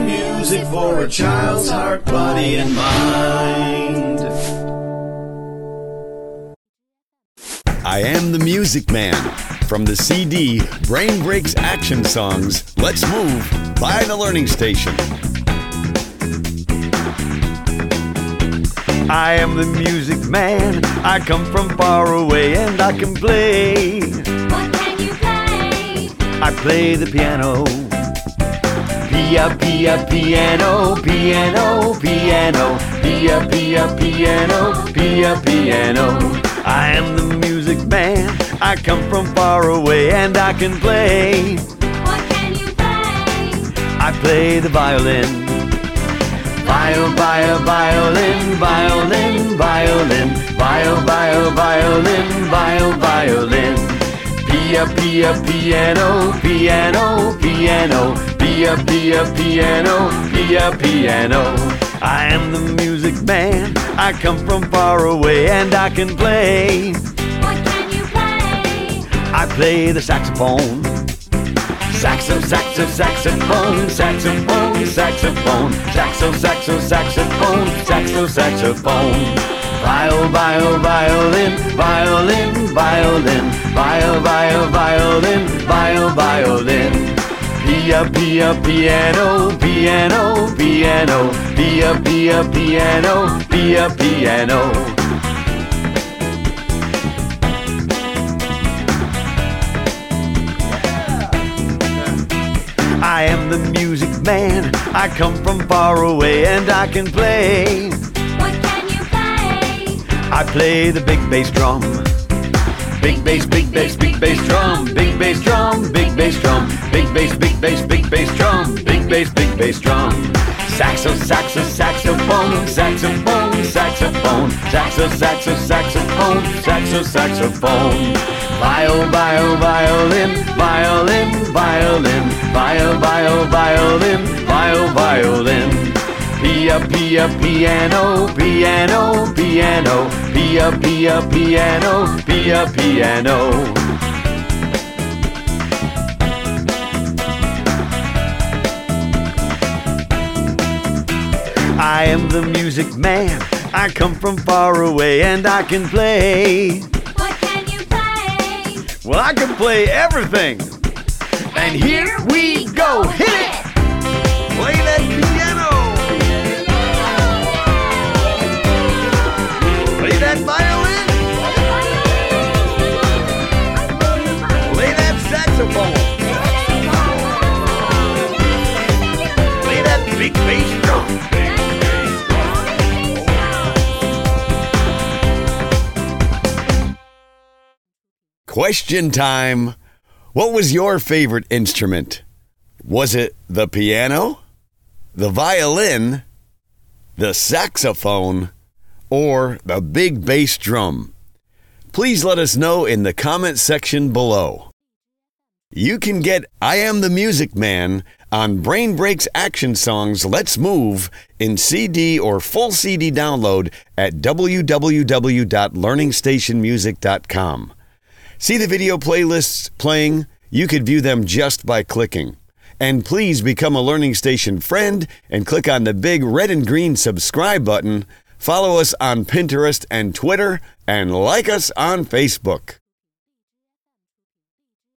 music for a child's heart, body, and mind. I Am the Music Man. From the CD, Brain Breaks Action Songs, Let's Move by the Learning Station. I am the music man. I come from far away and I can play. What can you play? I play the piano. Piano, piano, piano, piano, piano. I am the music man. I come from far away and I can play. What can you play? I play the violin. Violin, violin, violin, violin, violin, violin. Piano, piano, piano, piano. I am the music man. I come from far away and I can play. What can you play? I play the saxophone. Saxophone, saxophone, saxophone, saxophone. Violin, violin, violin, violin, violin. Piano, piano, piano, piano. I am the music man. I come from far away and I can play. What can you play? I play the big bass drum. Big bass, big bass, big bass drum. Big bass drum, big bass drum. Big bass, big bass, big bass drum. Big bass, big bass drum. Saxophone, saxophone, saxophone, saxophone, saxophone. Violin, violin, violin, violin, violin. Piano, piano, piano, piano. I am the music man. I come from far away and I can play. What can you play? Well, I can play everything. And here we go. Hit it! Play that piano. Play that violin. Play that saxophone. Play that big bass drum. Question time. What was your favorite instrument? Was it the piano, the violin, the saxophone, or the big bass drum? Please let us know in the comment section below. You can get I Am the Music Man on Brain Breaks Action Songs Let's Move in CD or full CD download at www.learningstationmusic.com. See the video playlists playing? You could view them just by clicking. And please become a Learning Station friend and click on the big red and green subscribe button. Follow us on Pinterest and Twitter and like us on Facebook.